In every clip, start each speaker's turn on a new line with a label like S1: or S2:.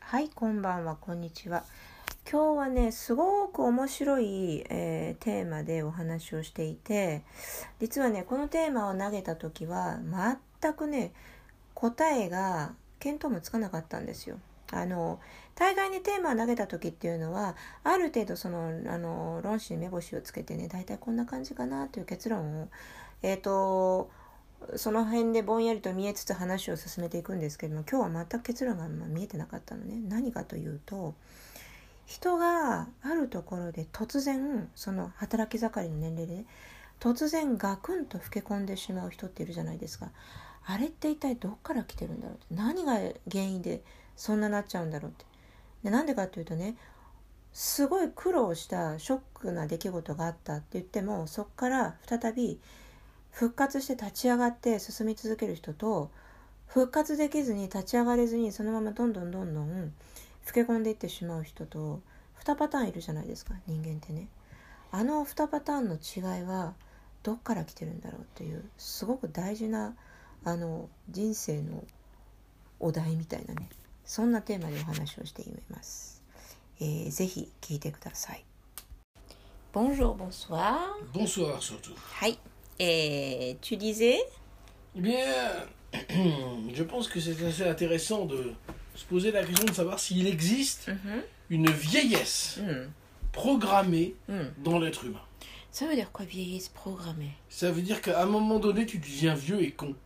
S1: はい、こんばんは、こんにちは。今日はね、すごく面白い、テーマでお話をしていて、実はね、このテーマを投げた時は全くね、答えが見当もつかなかったんですよ。大概にテーマを投げた時っていうのは、ある程度論旨に目星をつけてね、だいたいこんな感じかなという結論をその辺でぼんやりと見えつつ話を進めていくんですけども、今日は全く結論が見えてなかったのね。何かというと、人があるところで突然、その働き盛りの年齢で、ね、突然ガクンと老け込んでしまう人っているじゃないですか。あれって一体どっから来てるんだろうって、何が原因でそんななっちゃうんだろうって。で、なんでかというとね、すごい苦労したショックな出来事があったって言っても、そこから再び復活して立ち上がって進み続ける人と、復活できずに立ち上がれずにそのままどんどん老け込んでいってしまう人と2パターンいるじゃないですか、人間ってね。あの2パターンの違いはどっから来てるんだろうという、すごく大事な人生のお題みたいなね、そんなテーマでお話をしています。ぜひ聞いてください。Bonjour, bonsoir.
S2: Bonsoir surtout.
S1: はい。tu disais?
S2: Eh bien, je pense que c'est assez intéressant de se poser la question de savoir s'il existe une vieillesse programmée dans l'être humain.
S1: Ça veut dire quoi, vieillesse programmée?
S2: Ça veut dire qu'à un moment donné, tu deviens vieux et con.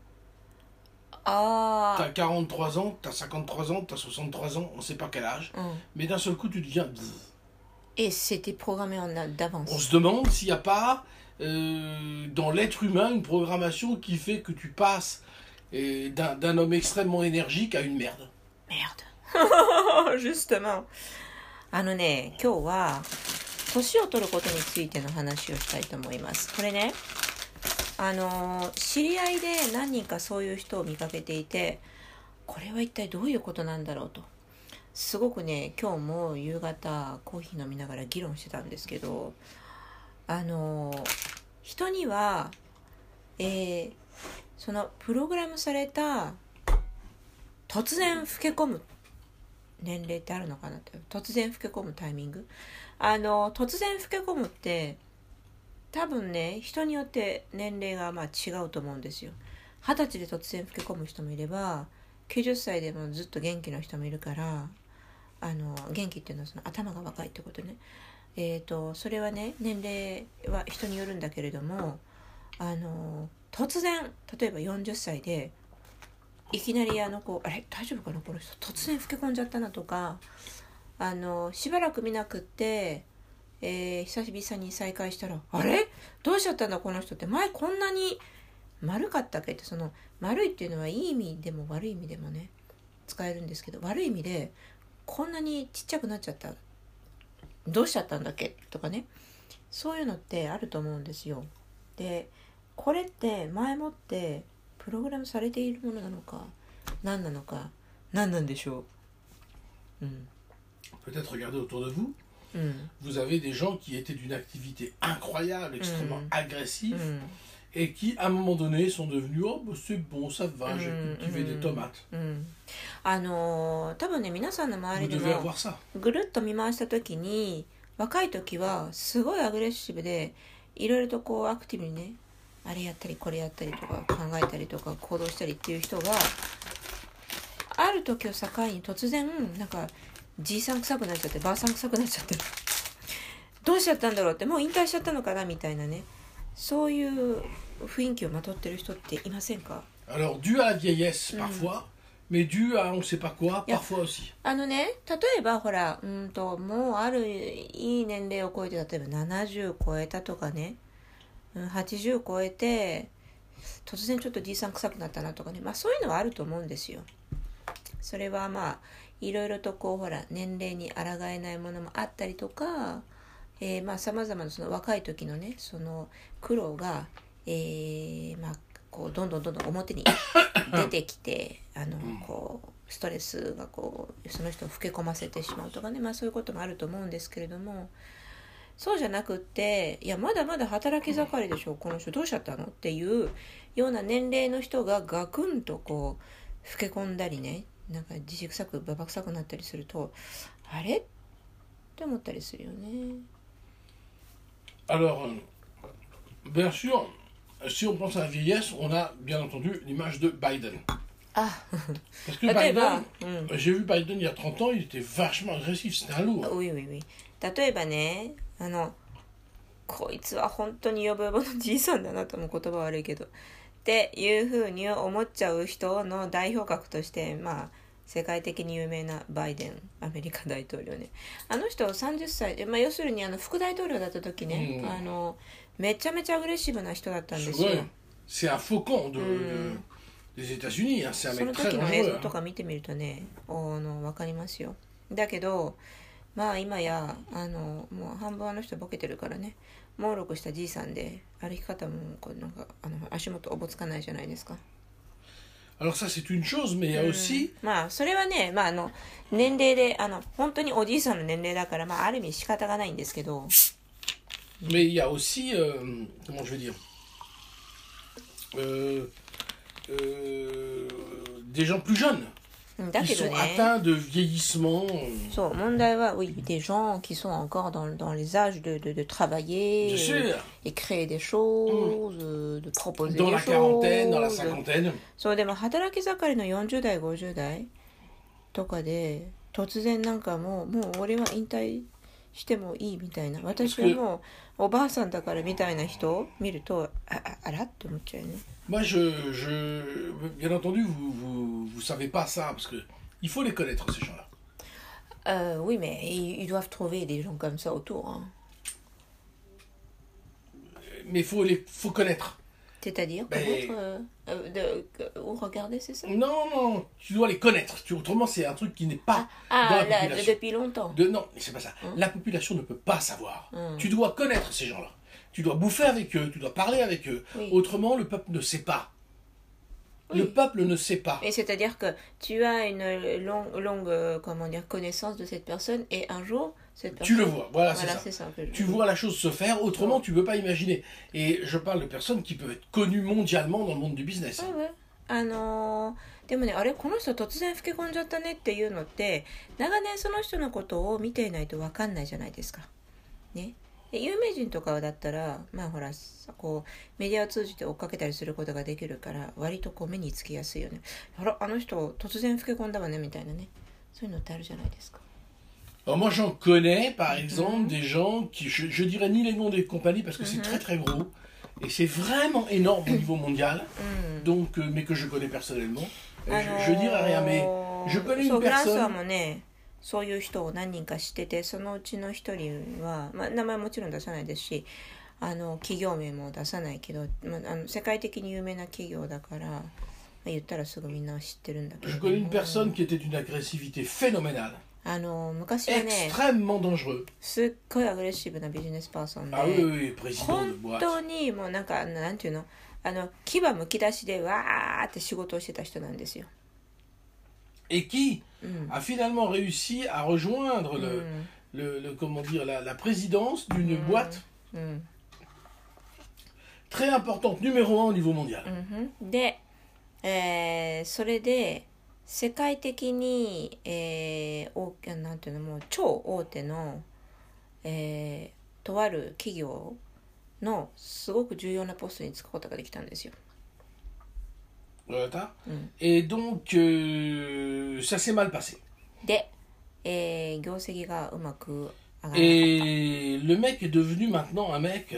S1: Ah.
S2: T'as 43 ans, t'as 53 ans, t'as 63 ans, on sait pas quel âge, mais d'un seul coup, tu deviens...
S1: Et c'était programmé d'avance.
S2: On se demande s'il n'y a pas... dans l'être humain une programmation qui fait que tu passes d'un homme extrêmement énergique à une merde.
S1: Merde. Justement. 今日は年を取ることについての話をしたいと思います。これね、知り合いで何人かそういう人を見かけていて、これは一体どういうことなんだろうと、すごくね、今日も夕方コーヒー飲みながら議論してたんですけど、人には、そのプログラムされた突然老け込む年齢ってあるのかなって。突然老け込むタイミング、突然老け込むって多分ね、人によって年齢が違うと思うんですよ。20歳で突然老け込む人もいれば、90歳でもずっと元気な人もいるから、元気っていうのはその頭が若いってことね。それはね、年齢は人によるんだけれども、突然例えば40歳でいきなりあれ大丈夫かなこの人、突然老け込んじゃったなとか、しばらく見なくって、久々に再会したら、あれどうしちゃったんだこの人って、前こんなに丸かったっけって。その丸いっていうのはいい意味でも悪い意味でもね使えるんですけど、悪い意味でこんなにちっちゃくなっちゃった、どうしちゃったんだっけとかね、そういうのってあると思うんですよ。で、これって前もってプログラムされているものなのか何なのか、何なんでしょう。
S2: Peut-être regardez autour de vous. Vous avez des gens qui étaient d'une activité incroyable, extrêmement agressive, et qui, à un moment donné, sont devenus « Oh, bah, c'est bon, ça va, j'ai cultivé des tomates. »
S1: 多分ね、皆さんの周りで
S2: Vous devez
S1: も
S2: avoir ça.
S1: ぐるっと見回した時に、若い時はすごいアグレッシブで、いろいろとこうアクティブにね、あれやったりこれやったりとか考えたりとか行動したりっていう人が、ある時を境に突然なんかじいさん臭くなっちゃって、ばあさん臭くなっちゃってどうしちゃったんだろうって、もう引退しちゃったのかなみたいなね、そういう雰囲気をまとってる人っていませんか？
S2: Alors, dû à la vieillesse, parfois, mais dû à on ne sait pas quoi, parfois aussi.
S1: 例えばほら、もうあるいい年齢を超えて、例えば70超えたとかね、80超えて突然ちょっとじいさん臭くなったなとかね、そういうのはあると思うんですよ。それはいろいろとこうほら年齢に抗えないものもあったりとか、様々なその若い時のね、その苦労が、こうどんどん表に出てきてこうストレスがこうその人を老け込ませてしまうとかね、そういうこともあると思うんですけれども、そうじゃなくって、いやまだまだ働き盛りでしょこの人、どうしちゃったのっていうような年齢の人がガクンとこう老け込んだりね、 なんか自臭くババ臭くなったりするとあれって思ったりするよね。
S2: Alors, bien sûr, si on pense à la vieillesse, on a bien entendu l'image de Biden.
S1: Ah.
S2: Parce que Biden, j'ai vu Biden il y a 30 ans, il était vachement agressif, c'était un lourd.
S1: Oui, oui, oui. 例えばね、こいつは本当にヨボヨボのじいさんだなとも言葉悪いけどっていうふうに思っちゃう人の代表格として、まあ世界的に有名なバイデンアメリカ大統領ね。あの人30歳で、まあ、要するに副大統領だった時ね、めちゃめちゃアグレッシブな人だったんですよ。
S2: C'est un faucon des États-Unis, c'est un mec très dangereux. その時の映像とか見てみるとね、わかりますよ。だけどまあ今やもう半分人ボケてるからね、猛録したじいさんで歩き方もこうなんか足元おぼつかないじゃないですか。Alors ça c'est une chose, mais il y a aussi
S1: まあそれはね、まあ年齢で本当におじいさんの年齢だから、まあある意味仕方がないんですけど。
S2: Mais il y a aussi comment je vais dire des gens plus jeunes.
S1: だけどね、
S2: ils sont atteints de vieillissement.
S1: そう問題は、oui, des gens qui sont encore dans les âges de travailler, et créer des choses, de proposer
S2: dans
S1: des
S2: la
S1: choses.
S2: quarantaine, dans la cinquantaine.
S1: そうでも働き盛りの40代50代とかで突然なんかもう俺は引退してもいいみたいな、私はもうおばあさんだからみたいな人を見るとあらって思っちゃうよね。
S2: Moi, bien entendu, vous savez pas ça, parce que il faut les connaître, ces gens-là.
S1: Oui, mais ils doivent trouver des gens comme ça autour. Hein.
S2: Mais faut connaître.
S1: C'est-à-dire ou regarder, c'est ça?
S2: Non, tu dois les connaître. Autrement, c'est un truc qui n'est pas dans la population.
S1: Depuis longtemps.
S2: Non, c'est pas ça. La population ne peut pas savoir. Tu dois connaître ces gens-là. Tu dois bouffer avec eux, tu dois parler avec eux. Oui. Autrement, le peuple ne sait pas. Oui. Le peuple ne sait pas.
S1: Et c'est-à-dire que tu as une longue connaissance de cette personne et un jour, cette personne...
S2: Tu le vois, voilà c'est ça. Tu vois la chose se faire, autrement tu ne peux pas imaginer. Et je parle de personnes qui peuvent être connues mondialement dans le monde du business.
S1: Oui. でもね、あれこの人突然老け込んじゃったねっていうのって長年その人のことを見ていないと分かんないじゃないですか。ね。有名人とかだったらまあほらこうメディアを通じて追っかけたりすることができるから割とこう目につきやすいよね。あの人突然老け込んだわねみたいなね、そういうのってあるじゃないですか。
S2: Alors moi j'en connais par exemple des gens qui je dirais ni les noms des compagnies parce que c'est très très gros et c'est vraiment énorme au niveau mondial donc mais que je connais personnellement. Je dirais rien mais je connais une personne. フランスはもねそういう人を何人か知ってて、そのうちの一人は、まあ、名前もちろん出さないですし企業名も出さないけど、まあ、世界的に有名な企業だから、まあ、言ったらすぐみんな知ってるんだけど。Je connais une personne qui était d'une agressivité phénoménale. 昔はね、extrêmement dangereux. すっごいアグレッシブなビジネスパーソンで、本当にもうなんていうの牙むき出しでわーって仕事をしてた人なんですよ。Et qui a finalement réussi à rejoindre comment dire, la présidence d'une boîte très importante, numéro 1 au niveau mondial. で、それで世界的に、なんていうのもう超大手の、とある企業のすごく重要なポストに就くことができたんですよ。Et donc ça s'est mal passé. で、業績がうまく上がらなかった。Et le mec est devenu maintenant un mec.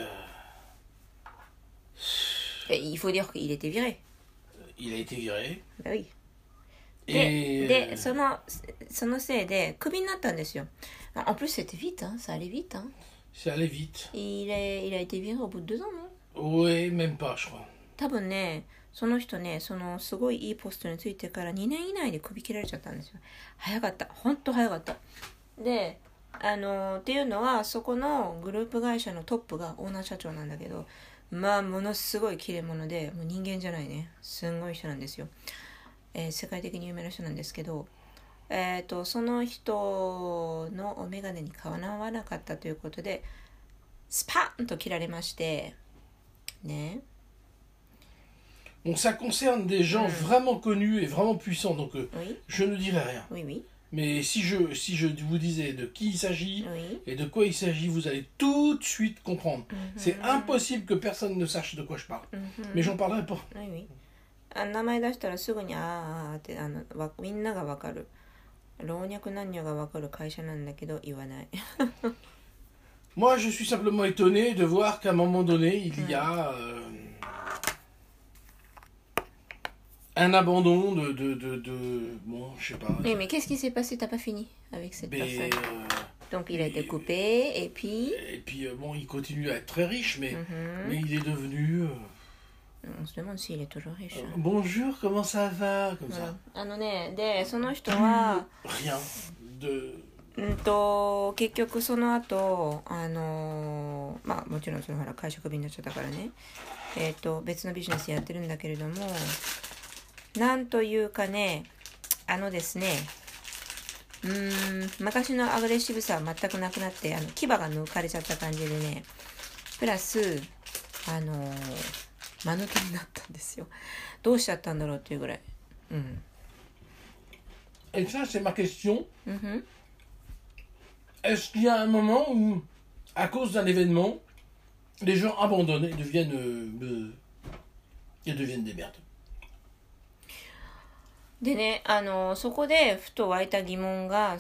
S2: Il faut dire qu'il était viré. Il a été viré. Bah oui. で、そのせいでクビになったんですよ。En plus c'était vite, hein, ça allait vite, hein. Ça allait vite. Il a été viré au bout de 2 ans, non? Oui, même pas, je crois. 多分ね。その人ね、すごいいいポストについてから2年以内で首切られちゃったんですよ。早かった。ほんと早かった。で、っていうのは、そこのグループ会社のトップがオーナー社長なんだけど、まあ、ものすごい切れ者で、もう人間じゃないね。すんごい人なんですよ。世界的に有名な人なんですけど、その人のお眼鏡にかなわなかったということで、スパンと切られまして、ね。 Bon, ça concerne des gens vraiment connus et vraiment puissants, donc
S1: oui.
S2: je ne dirai rien.
S1: Oui, oui.
S2: Mais si je vous disais de qui il s'agit
S1: oui.
S2: et de quoi il s'agit, vous allez tout de suite comprendre. C'est impossible que personne ne sache de quoi je parle. Mais j'en parlerai pas.
S1: Oui, oui. 名前出したらすぐにってみんながわかる。老若男女がわかる会社なんだけど言わない。
S2: Moi, je suis simplement étonné de voir qu'à un moment donné, il y a un abandon bon, je sais pas.
S1: Oui, mais qu'est-ce qui s'est passé? T'as pas fini avec cette personne. Donc il a été coupé et puis.
S2: Et puis bon, il continue à être très riche, mais il est devenu.
S1: On se demande s'il est toujours riche.
S2: Bonjour, comment ça va? Comme ça.
S1: でその人は
S2: Rien de.
S1: 結局その後まあもちろんそのほら会社クビになっちゃったからね別のビジネスやってるんだけれどもなんというかねですね昔のアグレッシブさは全くなくなって牙が抜かれちゃった感じでねプラス間抜けになったんですよどうしちゃったんだろうっていうぐらい
S2: Et ça, c'est ma question. Est-ce qu'il y a un moment où, à cause d'un événement, les gens abandonnent et deviennent des merdes?
S1: でね、そこでふと湧いた疑問が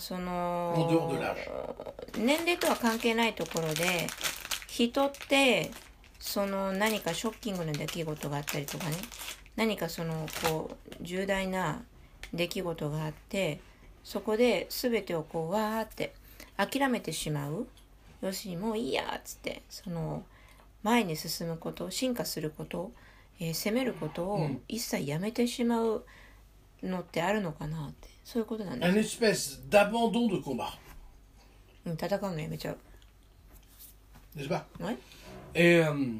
S1: 年齢とは関係ないところで人って何かショッキングな出来事があったりとかね何か重大な出来事があってそこで全てをわーって諦めてしまう要するにもういいやっつって前に進むこと進化すること、攻めることを一切やめてしまうのってあるのかなってそういうことなんです。
S2: Un espèce d'abandon de combat.
S1: 戦うのやめちゃう。
S2: N'est-ce pas?
S1: Ouais.
S2: Et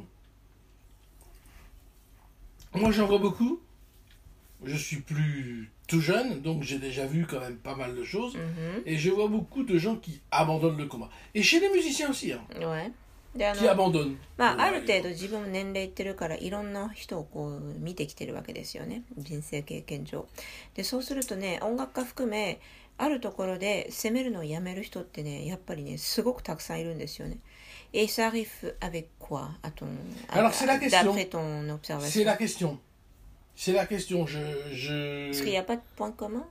S2: moi j'en vois beaucoup. Je suis plus tout jeune, donc j'ai déjà vu quand même pas mal de choses. Et je vois beaucoup de gens qui abandonnent le combat. Et chez les musiciens aussi. Hein,
S1: ouais.
S2: qui abandonnent.
S1: まあある程度自分も年齢いってるからいろんな人を見てきてるわけですよね人生経験上でそうするとね音楽家含めあるところで攻めるのをやめる人ってねやっぱりねすごくたくさんいるんですよね Et ça arrive avec quoi à ton
S2: Alors c'est la question.
S1: D'après ton observation.
S2: C'est la question. C'est la question.
S1: Parce qu'il n'y a pas de point commun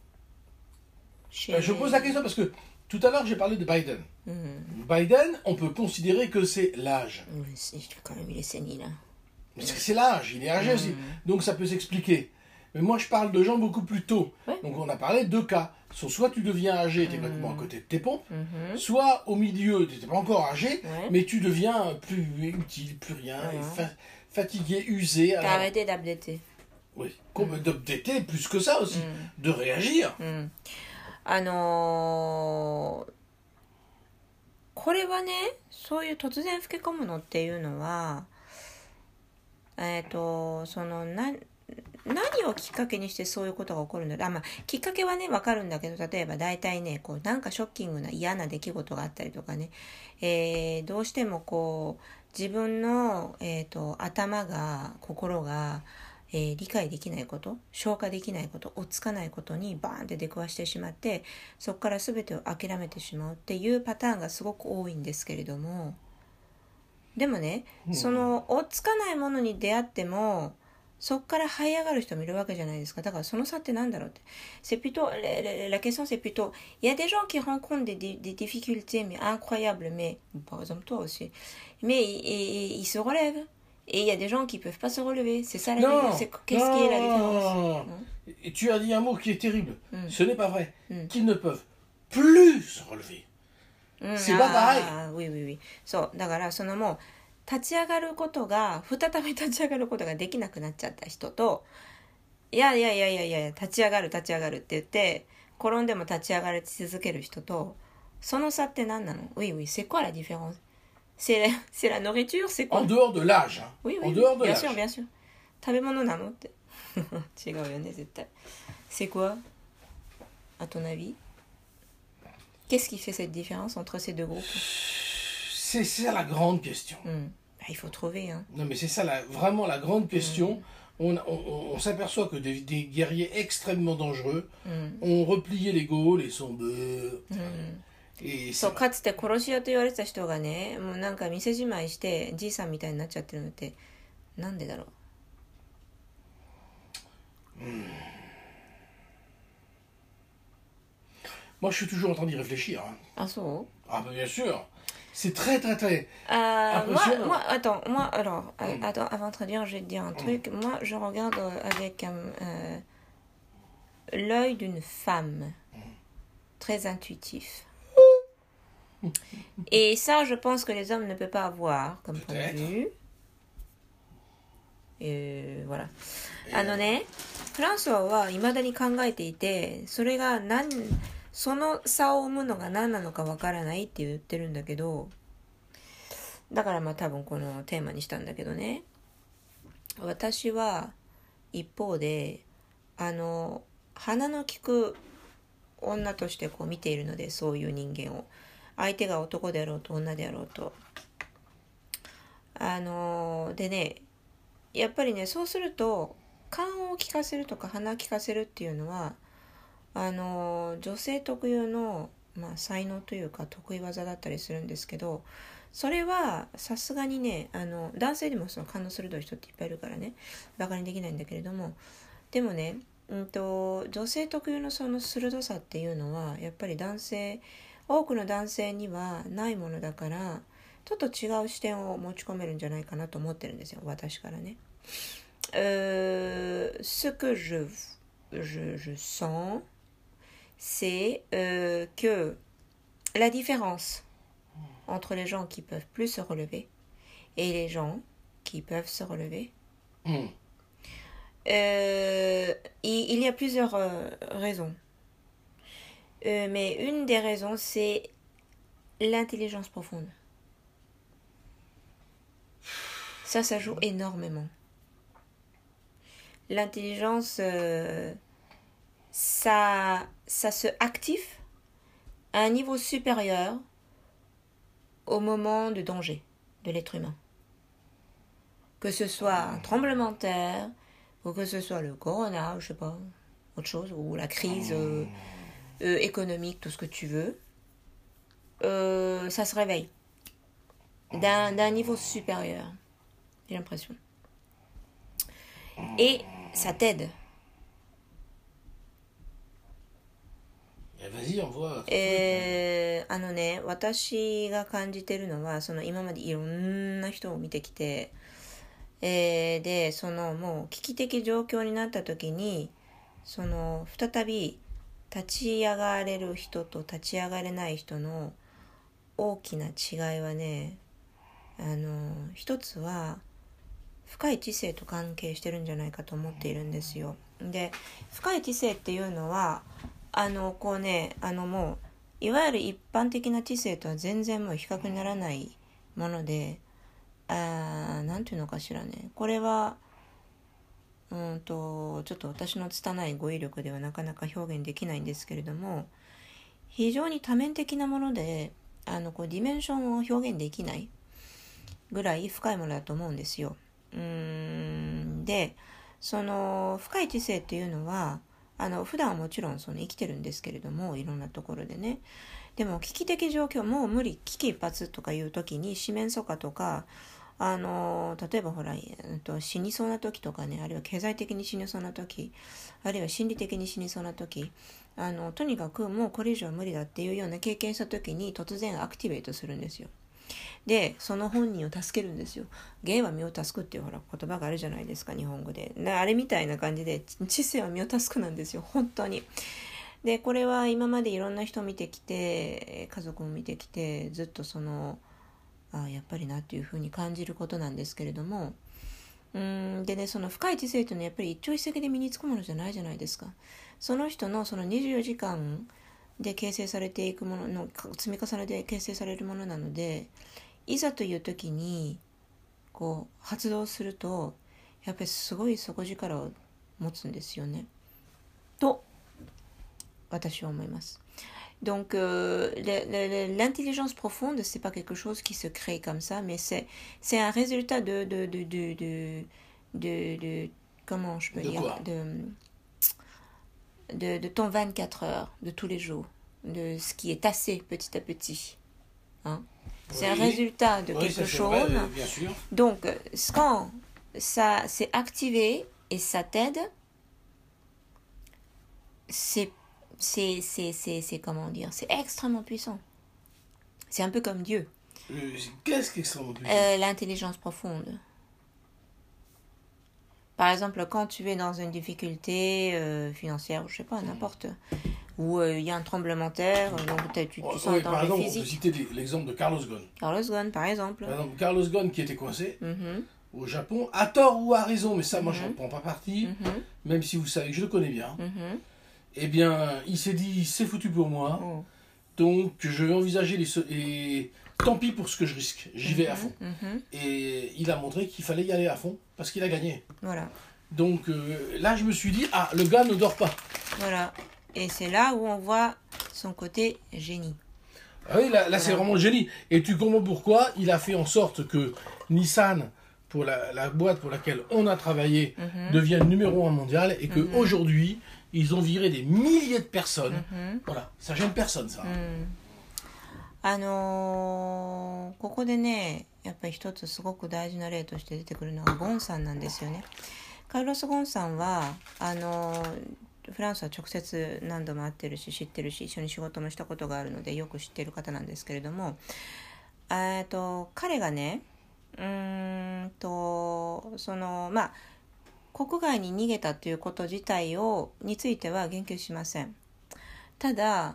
S2: Je pose la question parce que tout à l'heure j'ai parlé de Biden. Biden, on peut considérer que c'est l'âge.
S1: Oui, quand même, il est sénile.
S2: Parce que c'est l'âge, il est âgé aussi. Donc ça peut s'expliquer. Mais moi je parle de gens beaucoup plus tôt.
S1: Ouais.
S2: Donc on a parlé de deux cas. Soit tu deviens âgé, tu es complètement à côté de tes pompes. Soit au milieu, tu n'étais pas encore âgé, mais tu deviens plus utile, plus rien, fatigué, usé.
S1: T'as arrêté d'updater.
S2: Oui, d'updater plus que ça aussi. De réagir.
S1: これはねそういう突然老け込むのっていうのは何をきっかけにしてそういうことが起こるんだろうまあきっかけはね分かるんだけど例えば大体ねなんかショッキングな嫌な出来事があったりとかね、どうしても自分の、頭が心が理解できないこと消化できないこと追っつかないことにバーンって出くわしてしまってそこから全てを諦めてしまうっていうパターンがすごく多いんですけれどもでもね、その追っつかないものに出会ってもそこから這い上がる人もいるわけじゃないですかだからその差ってなんだろうって C'est plutôt la question c'est plutôt il y a des gens qui rencontrent des difficultés mais incroyables mais par exemple toi aussi mais ils se relèvent Et il y a des gens qui ne peuvent pas se relever. C'est ça la différence. Qu'est-ce qui est la différence
S2: Et tu as dit un mot qui est terrible. Ce n'est pas vrai. Qu'ils ne peuvent plus se relever. C'est pas pareil.
S1: Oui, oui, oui. そう。だから、もう、立ち上がることが、再び立ち上がることができなくなっちゃった人と、いや、立ち上がるって言って、転んでも立ち上がり続ける人と、その差って何なの Oui, oui. C'est quoi la différence?C'est la nourriture, c'est quoi?
S2: En dehors de l'âge. Hein.
S1: Oui,
S2: en dehors de
S1: bien
S2: l'âge.
S1: sûr, bien sûr. 食べ物なのって違うよね絶対 C'est quoi à ton avis? Qu'est-ce qui fait cette différence entre ces deux groupes?
S2: C'est ça la grande question.
S1: Il faut trouver. Hein.
S2: Non mais c'est ça vraiment la grande question on s'aperçoit que des guerriers extrêmement dangereux ont replié les Gaules et sont...
S1: そうかつて殺し屋と言われてた人がね、もうなんか店じまいしてじいさんみたいになっちゃってるのってなんでだろう。
S2: Moi, je suis toujours en train d'y réfléchir. Hein.
S1: Ah, ça?
S2: Ah, bien sûr. C'est très, très, très
S1: alors, attends, avant de traduire, je vais te dire un truc. Moi, je regarde avec l'œil d'une femme, très intuitif. Et ça, je pense que les hommes ne peuvent pas avoir comme point de vue. Et voilà. フランソワは未だに考えていて、それがその差を生むのが何なのかわからないって言ってるんだけど、だからまあ多分このテーマにしたんだけどね。私は一方で鼻の利く女としてこう見ているので、そういう人間を相手が男であろうと女であろうとでね、やっぱりね、そうすると勘を利かせるとか鼻を利かせるっていうのは女性特有の、才能というか得意技だったりするんですけど、それはさすがにね男性でもその勘の鋭い人っていっぱいいるからねバカにできないんだけれども、でもね、女性特有のその鋭さっていうのはやっぱり多くの男性にはないものだから、ちょっと違う視点を持ち込めるんじゃないかなと思ってるんですよ、私からね。Ce que je sens c'est que la différence entre les gens qui peuvent plus se relever et les gens qui peuvent se relever, il y a plusieurs raisons. Mais une des raisons, c'est l'intelligence profonde. Ça joue énormément. L'intelligence, ça se active à un niveau supérieur au moment de danger de l'être humain. Que ce soit un tremblement de terre, ou que ce soit le corona, je sais pas, autre chose, ou la crise économique, tout ce que tu veux, ça se réveille d'un niveau supérieur, j'ai l'impression. Et ça t'aide.
S2: Vas-y, on voit.
S1: 私が感じてるのは今までいろんな人を見てきて、でもう危機的状況になった時に再び立ち上がれる人と立ち上がれない人の大きな違いはね、一つは深い知性と関係してるんじゃないかと思っているんですよ。で、深い知性っていうのはこうね、もういわゆる一般的な知性とは全然もう比較にならないもので、なんていうのかしらね、これはちょっと私の拙い語彙力ではなかなか表現できないんですけれども、非常に多面的なものでこうディメンションを表現できないぐらい深いものだと思うんですよ。で、深い知性っていうのは普段はもちろん生きてるんですけれども、いろんなところでね。でも危機的状況、もう無理、危機一髪とかいう時に四面楚歌とか例えばほら死にそうな時とかね、あるいは経済的に死にそうな時、あるいは心理的に死にそうな時、とにかくもうこれ以上無理だっていうような経験した時に突然アクティベートするんですよ。でその本人を助けるんですよ。芸は身を助くっていうほら言葉があるじゃないですか、日本語で。あれみたいな感じで知性は身を助くなんですよ、本当に。でこれは今までいろんな人を見てきて、家族も見てきて、ずっとやっぱりなっていうふうに感じることなんですけれども、でね、その深い知性というのはやっぱり一朝一夕で身につくものじゃないじゃないですか。その人の24時間で形成されていくものの積み重ねで形成されるものなので、いざという時にこう発動するとやっぱりすごい底力を持つんですよねと私は思います。Donc l'intelligence profonde, c'est pas quelque chose qui se crée comme ça, mais c'est un résultat de comment je peux
S2: De
S1: dire,
S2: quoi
S1: de ton 24 heures, de tous les jours, de ce qui est tassé petit à petit. Hein? C'est un résultat de quelque chose.
S2: Vrai, bien sûr.
S1: Donc, quand ça s'est activé et ça t'aide, c'est comment dire, c'est extrêmement puissant. C'est un peu comme Dieu.
S2: Qu'est-ce qui est extrêmement puissant?
S1: L'intelligence profonde. Par exemple, quand tu es dans une difficulté financière, je sais pas, n'importe, où il y a un tremblement de terre, donc tu sens un danger physique.
S2: Par exemple, on peut citer l'exemple de Carlos Ghosn.
S1: Carlos Ghosn, par exemple.
S2: Carlos Ghosn qui était coincé au Japon, à tort ou à raison, mais ça, moi, je ne prends pas parti, même si vous savez que je le connais bien. Eh bien, il s'est dit, c'est foutu pour moi, donc je vais envisager et tant pis pour ce que je risque, j'y vais à fond. Et il a montré qu'il fallait y aller à fond, parce qu'il a gagné.
S1: Voilà.
S2: Donc là, je me suis dit, ah, le gars ne dort pas.
S1: Voilà. Et c'est là où on voit son côté génie.
S2: Ah oui, là c'est vraiment le génie. Et tu comprends pourquoi il a fait en sorte que Nissan, pour la boîte pour laquelle on a travaillé, devienne numéro 1 mondial, et qu'aujourd'hui, ils ont viré des milliers de personnes. Voilà, ça gêne personne, ça.
S1: ここでね、やっぱり一つすごく大事な例として出てくるのはゴンさんなんですよね。カルロス・ゴンさんはフランスは直接何度も会ってるし知ってるし、一緒に仕事もしたことがあるのでよく知ってる方なんですけれども、彼がね、国外に逃げたということ自体については言及しません。ただ、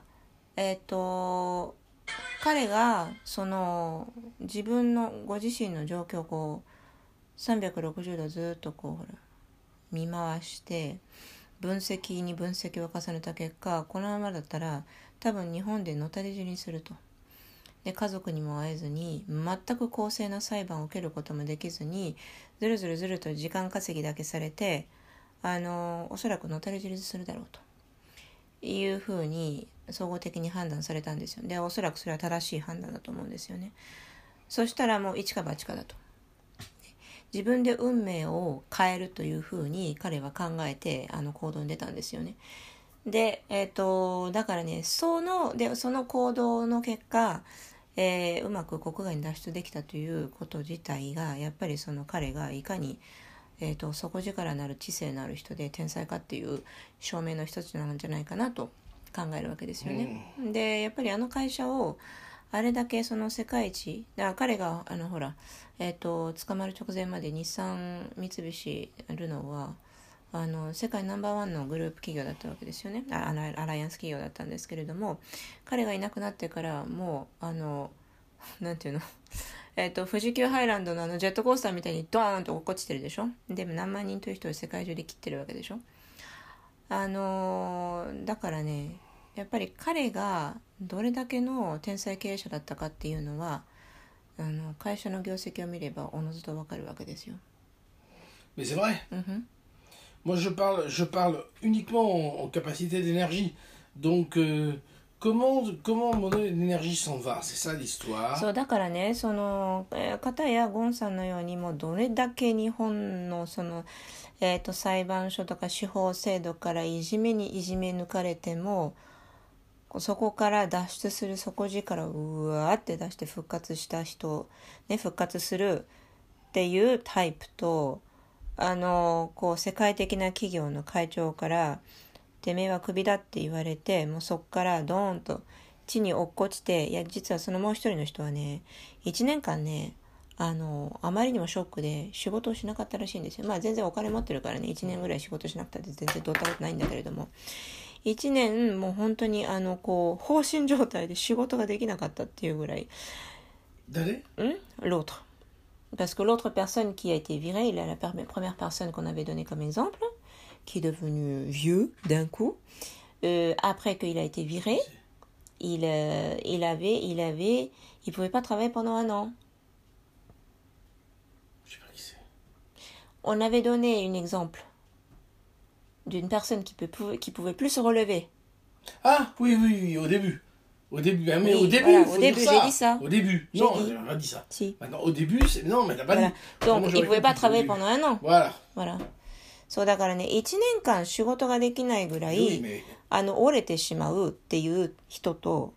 S1: 彼が自分のご自身の状況を360度ずっと見回して分析に分析を重ねた結果、このままだったら多分日本でのたれ死にすると。で、家族にも会えずに全く公正な裁判を受けることもできずにずると時間稼ぎだけされておそらくのたれ死にするだろうというふうに総合的に判断されたんですよ。で、おそらくそれは正しい判断だと思うんですよね。そしたらもう一か八かだと。自分で運命を変えるというふうに彼は考えて行動に出たんですよね。で、だからね、その行動の結果、うまく国外に脱出できたということ自体がやっぱり彼がいかに底力のある知性のある人で天才かっていう証明の一つなんじゃないかなと考えるわけですよね。で、やっぱり会社をあれだけ世界一だから彼が捕まる直前まで日産三菱ルノーは世界ナンバーワンのグループ企業だったわけですよね。アライアンス企業だったんですけれども、彼がいなくなってからもうなんていうの富士急ハイランドのジェットコースターみたいにドーンと落っこちてるでしょ。でも何万人という人を世界中で切ってるわけでしょ。だからね、やっぱり彼がどれだけの天才経営者だったかっていうのは会社の業績を見ればおのずとわかるわけですよ。
S2: Mais c'est vrai. Moi, je parle uniquement en capacité d'énergie. Donc, comment mon énergie s'en va? C'est ça l'histoire.
S1: そうだからね、片やゴンさんのようにもどれだけ日本の裁判所とか司法制度からいじめ抜かれても、そこから脱出する底力をうわーって出して復活した人、ね、復活するっていうタイプと、世界的な企業の会長からてめえはクビだって言われて、もうそこからドーンと地に落っこちて、いや実はもう一人の人はね、1年間ねあまりにもショックで仕事をしなかったらしいんですよ。まあ全然お金持ってるからね、1年ぐらい仕事しなくたって全然どうったことないんだけれども、1年もう本当に放心状態で仕事ができなかったっていうぐらい。
S2: 誰
S1: ？L'autre. Parce que l'autre personne qui a été virée, il est la première personne qu'on avait donnée comme exemple, qui est devenu vieux d'un coup. Après qu'il a été viré, il pouvait pas travailler pendant 1 an.
S2: Je sais pas qui c'est.
S1: On avait donné un exemple d'une personne qui pouvait plus se relever.
S2: Ah oui, au début. Au début, mais
S1: oui,
S2: au début,
S1: voilà,
S2: faut
S1: au début,
S2: dire ça.
S1: j'ai dit ça.
S2: Au début, non, j'ai pas dit ça.
S1: Si.
S2: Maintenant, au début, non, mais t'as pas
S1: voilà.
S2: dit.
S1: Donc, il ne pouvait pas travailler pendant 1 an.
S2: Voilà.
S1: そうだからね、1年間仕事ができないぐらい、折れてしまうっていう人と、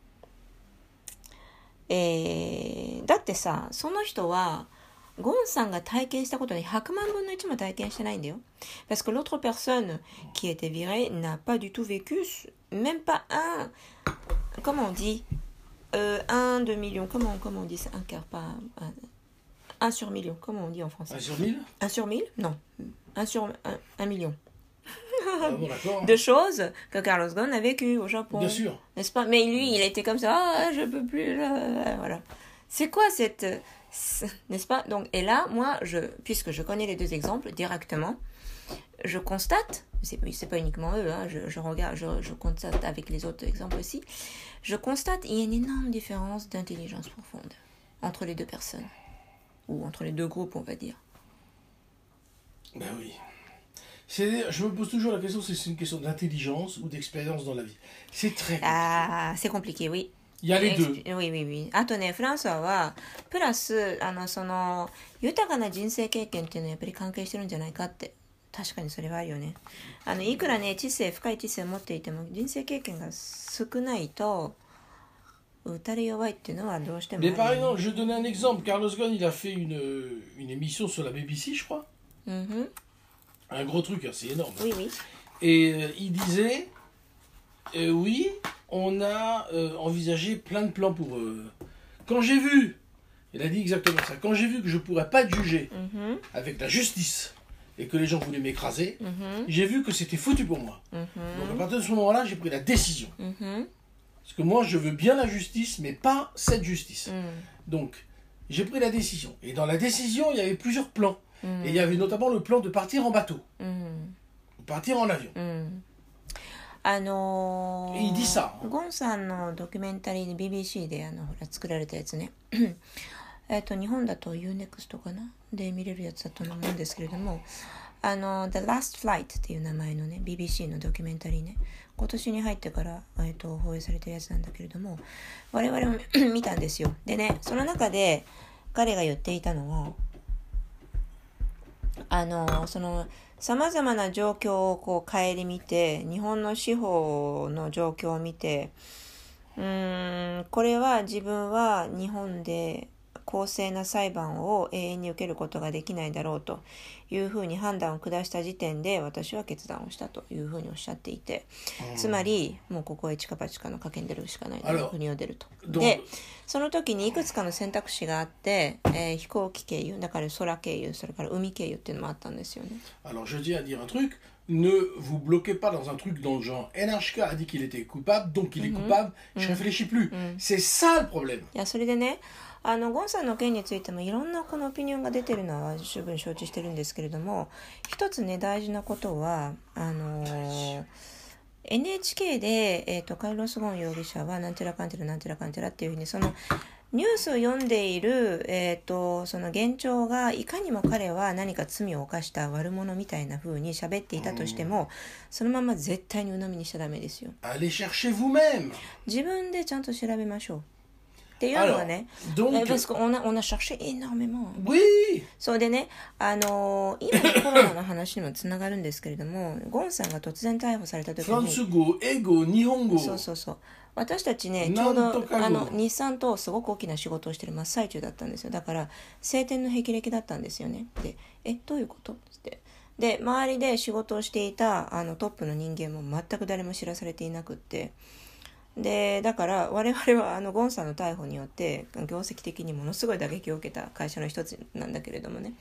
S1: だってさ、その人はゴンさんが体験したことに100万分の1も体験してないんだよ。Parce que l'autre personne qui était virée n'a pas du tout vécu, même pas un, comment on dit, 1 de million, comment on dit ça, un quart, pas un sur million, comment on dit en français?
S2: 1 sur 1000?
S1: 1 sur 1000? Non, 1 sur 1 million.
S2: Ah bon, d'accord.
S1: De choses que Carlos Ghosn a vécues au Japon.
S2: Bien sûr.
S1: N'est-ce pas? Mais lui, il était comme ça, ah, je peux plus, voilà. C'est quoi cette... N'est-ce pas? Donc, et là, moi, puisque je connais les deux exemples directement, je constate, c'est pas uniquement eux, hein, je regarde, je constate avec les autres exemples aussi, je constate il y a une énorme différence d'intelligence profonde entre les deux personnes, ou entre les deux groupes, on va dire.
S2: Ben oui. Je me pose toujours la question, c'est une question d'intelligence ou d'expérience dans la vie. C'est très compliqué.
S1: Ah, c'est compliqué, oui.
S2: Il y a les deux.
S1: Oui. あとね、フランスはプラスその豊かな人生経験っていうのはやっぱり関係してるんじゃないかって。確かにそれはあるよね。いくらね深い知性を持っていても人生経験が少ないと打たれ弱いっていうのはどうしてもあるよね。
S2: Mais par exemple, je vais donner un exemple. Carlos Ghosn, il a fait une émission sur la BBC, je crois. Un gros truc, hein, c'est énorme.
S1: Oui.
S2: Et il disait, oui, on a envisagé plein de plans pour... Quand j'ai vu, il a dit exactement ça, quand j'ai vu que je ne pourrais pas être jugé avec la justice et que les gens voulaient m'écraser, j'ai vu que c'était foutu pour moi. Donc à partir de ce moment-là, j'ai pris la décision. Parce que moi, je veux bien la justice, mais pas cette justice. Donc, j'ai pris la décision. Et dans la décision, il y avait plusieurs plans. Et il y avait notamment le plan de partir en bateau. Ou partir en avion. Et il dit ça.
S1: ゴンさんのドキュメンタリーで BBC でほら作られたやつね。日本だと UNEXT かなで見れるやつだと思うんですけれども、The Last Flight っていう名前のね BBC のドキュメンタリーね、今年に入ってから、放映されてるやつなんだけれども、我々も見たんですよ。でね、その中で彼が言っていたのは、そのさまざまな状況をこう顧みて、日本の司法の状況を見て、これは自分は日本で公正な裁判を永遠に受けることができないだろうというふうに判断を下した時点で私は決断をしたというふうにおっしゃっていて、つまりもうここへチカパチカの賭けに出るしかないと、国を出ると。でその時にいくつかの選択肢があって、飛行機経由、だから空経由、それから海経由っていうのもあったんですよね。
S2: Alors je tiens à dire un truc, ne vous bloquez pas dans un truc dans le genre NHK a dit qu'il était coupable, donc il est coupable, je réfléchis plus. C'est ça le problème.
S1: いやそれでね、ゴンさんの件についてもいろんなこのオピニオンが出てるのは十分承知してるんですけれども、一つね大事なことはNHK で、カルロス・ゴーン容疑者はなんちゃらかんちゃらなんちゃらかんちゃらっていうふうにそのニュースを読んでいる、その現状がいかにも彼は何か罪を犯した悪者みたいな風に喋っていたとしても、そのまま絶対に鵜呑みにしちゃダメですよ。
S2: Allez chercher vous-même.
S1: 自分でちゃんと調べましょうっていうのはね。parce qu'on a cherché énormément.
S2: Oui.
S1: そうでね、今のコロナの話にもつながるんですけれども、ゴンさんが突然逮捕された時に
S2: フランス語、英語、日本語。
S1: そう私たちね、ちょうど日産とすごく大きな仕事をしてる真っ最中だったんですよ。だから晴天の霹靂だったんですよね。で、どういうことってで、周りで仕事をしていたトップの人間も全く誰も知らされていなくって、でだから我々はゴンさんの逮捕によって業績的にものすごい打撃を受けた会社の一つなんだけれどもね、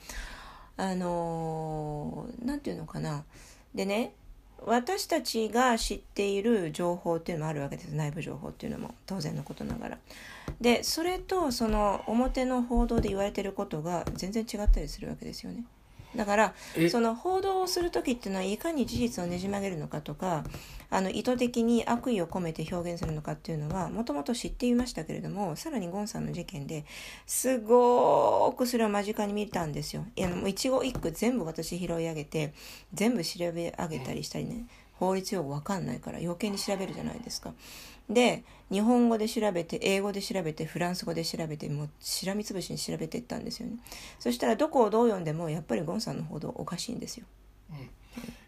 S1: なんていうのかな、でね、私たちが知っている情報っていうのもあるわけです。内部情報っていうのも当然のことながら。でそれとその表の報道で言われていることが全然違ったりするわけですよね。だからその報道をするときっていうのはいかに事実をねじ曲げるのかとか、意図的に悪意を込めて表現するのかっていうのはもともと知っていましたけれども、さらにゴンさんの事件ですごくそれを間近に見たんですよ。一語一句全部私拾い上げて全部調べ上げたりしたりね、法律用語わかんないから余計に調べるじゃないですか。で日本語で調べて、英語で調べて、フランス語で調べて、もうしらみつぶしに調べていったんですよね。そしたらどこをどう読んでもやっぱりゴンさんの報道おかしいんですよ。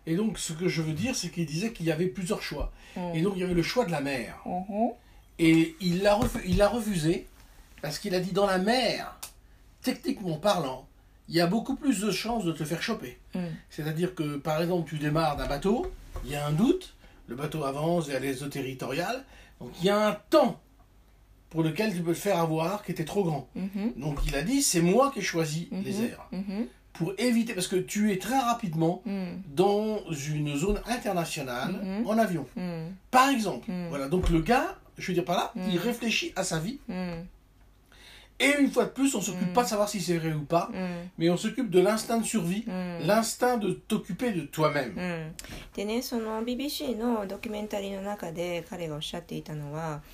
S2: Et donc, ce que je veux dire, c'est qu'il disait qu'il y avait plusieurs choix. Et donc, il y avait le choix de la mer. Et il l'a refusé parce qu'il a dit, dans la mer, techniquement parlant, il y a beaucoup plus de chances de te faire choper. C'est-à-dire que, par exemple, tu démarres d'un bateau, il y a un doute, le bateau avance vers les eaux territoriales, donc il y a un temps pour lequel tu peux te faire avoir qui était trop grand. Donc il a dit, c'est moi qui ai choisi les airs. Pour éviter, parce que tu es très rapidement dans une zone internationale en avion. Par exemple. Voilà, donc le gars, je veux dire par là, il réfléchit à sa vie. Et une fois de plus, on ne s'occupe pas de savoir si c'est vrai ou pas, mais on s'occupe de l'instinct de survie, l'instinct de t'occuper de toi-même.
S1: でね、その BBC のドキュメンタリーの中で彼がおっしゃっていたのは、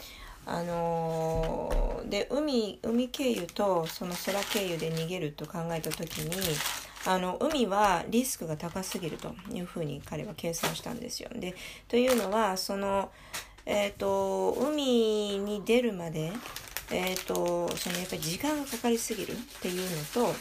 S1: で海経由とその空経由で逃げると考えた時に、海はリスクが高すぎるというふうに彼は計算したんですよ。でというのはその、海に出るまで、そのやっぱり時間がかかりすぎるっていうのと、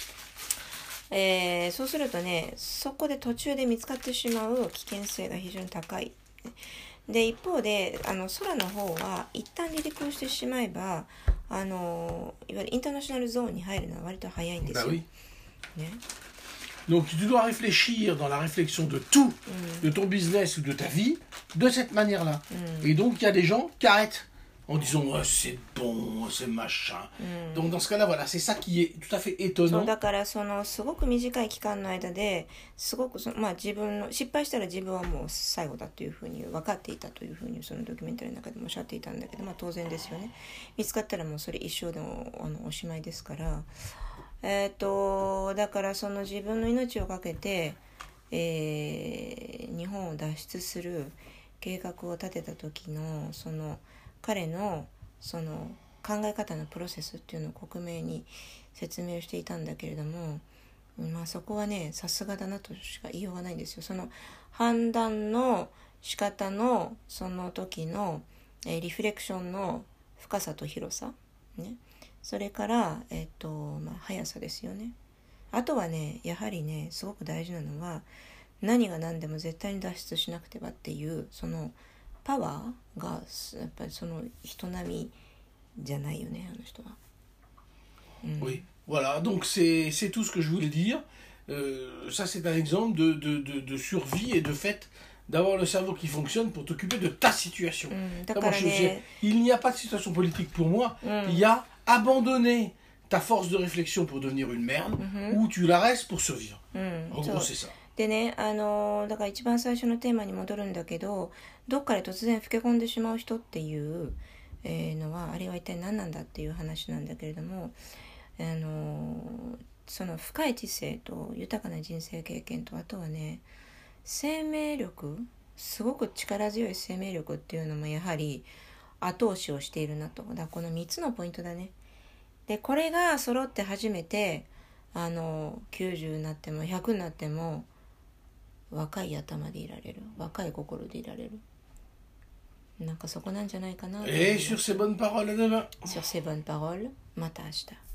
S1: そうするとね、そこで途中で見つかってしまう危険性が非常に高い。で一方で空の方は一旦離陸をしてしまえばいわゆるインターナショナルゾーンに入るのは割と早いんですよ。ね。
S2: Donc tu dois réfléchir dans la réflexion de tout, de ton business ou de ta vie, de cette manière-là. Et donc il y a des gens qui arrêtent en disant oh, c'est bon, c'est machin. Donc dans ce cas-là, voilà, c'est ça qui est tout à fait étonnant.
S1: そうだからそのすごく短い期間の間ですごく自分の失敗したら自分はもう最後だというふうに分かっていたというふうにそのドキュメンタリーの中でもおっしゃっていたんだけど、当然ですよね。見つかったらもうそれ一生でもおしまいですから。だからその自分の命をかけて、日本を脱出する計画を立てた時のその彼のその考え方のプロセスっていうのを克明に説明していたんだけれども、そこはねさすがだなとしか言いようがないんですよ。その判断の仕方のその時の、リフレクションの深さと広さね。それから、速さですよね。あとはね、やはりね、すごく大事なのは、何が何でも絶対に脱出しなくてはっていう、そのパワーが、やっぱりその人並みじゃないよね、あの人は。
S2: Oui, voilà, donc c'est tout ce que je voulais dire. Ça, c'est un exemple de survie et de fait d'avoir le cerveau qui fonctionne pour t'occuper de ta situation. Il n'y a pas de situation politique pour moi, il y a abandonner ta force de réflexion pour devenir une merde, ou tu la restes pour survivre. En gros, c'est ça.
S1: でね、だから一番最初のテーマに戻るんだけど、どっかで突然老け込んでしまう人っていうのは、あれは一体何なんだっていう話なんだけれども、その深い知性と豊かな人生経験と、あとはね、生命力、すごく力強い生命力っていうのもやはり後押しをしているなと。だからこの3つのポイントだね。でこれが揃って初めて90になっても100になっても若い頭でいられる、若い心でいられる。なんかそこなんじゃないかな。
S2: Et sur ces bonnes paroles, à demain.
S1: Sur ces bonnes paroles, また明日。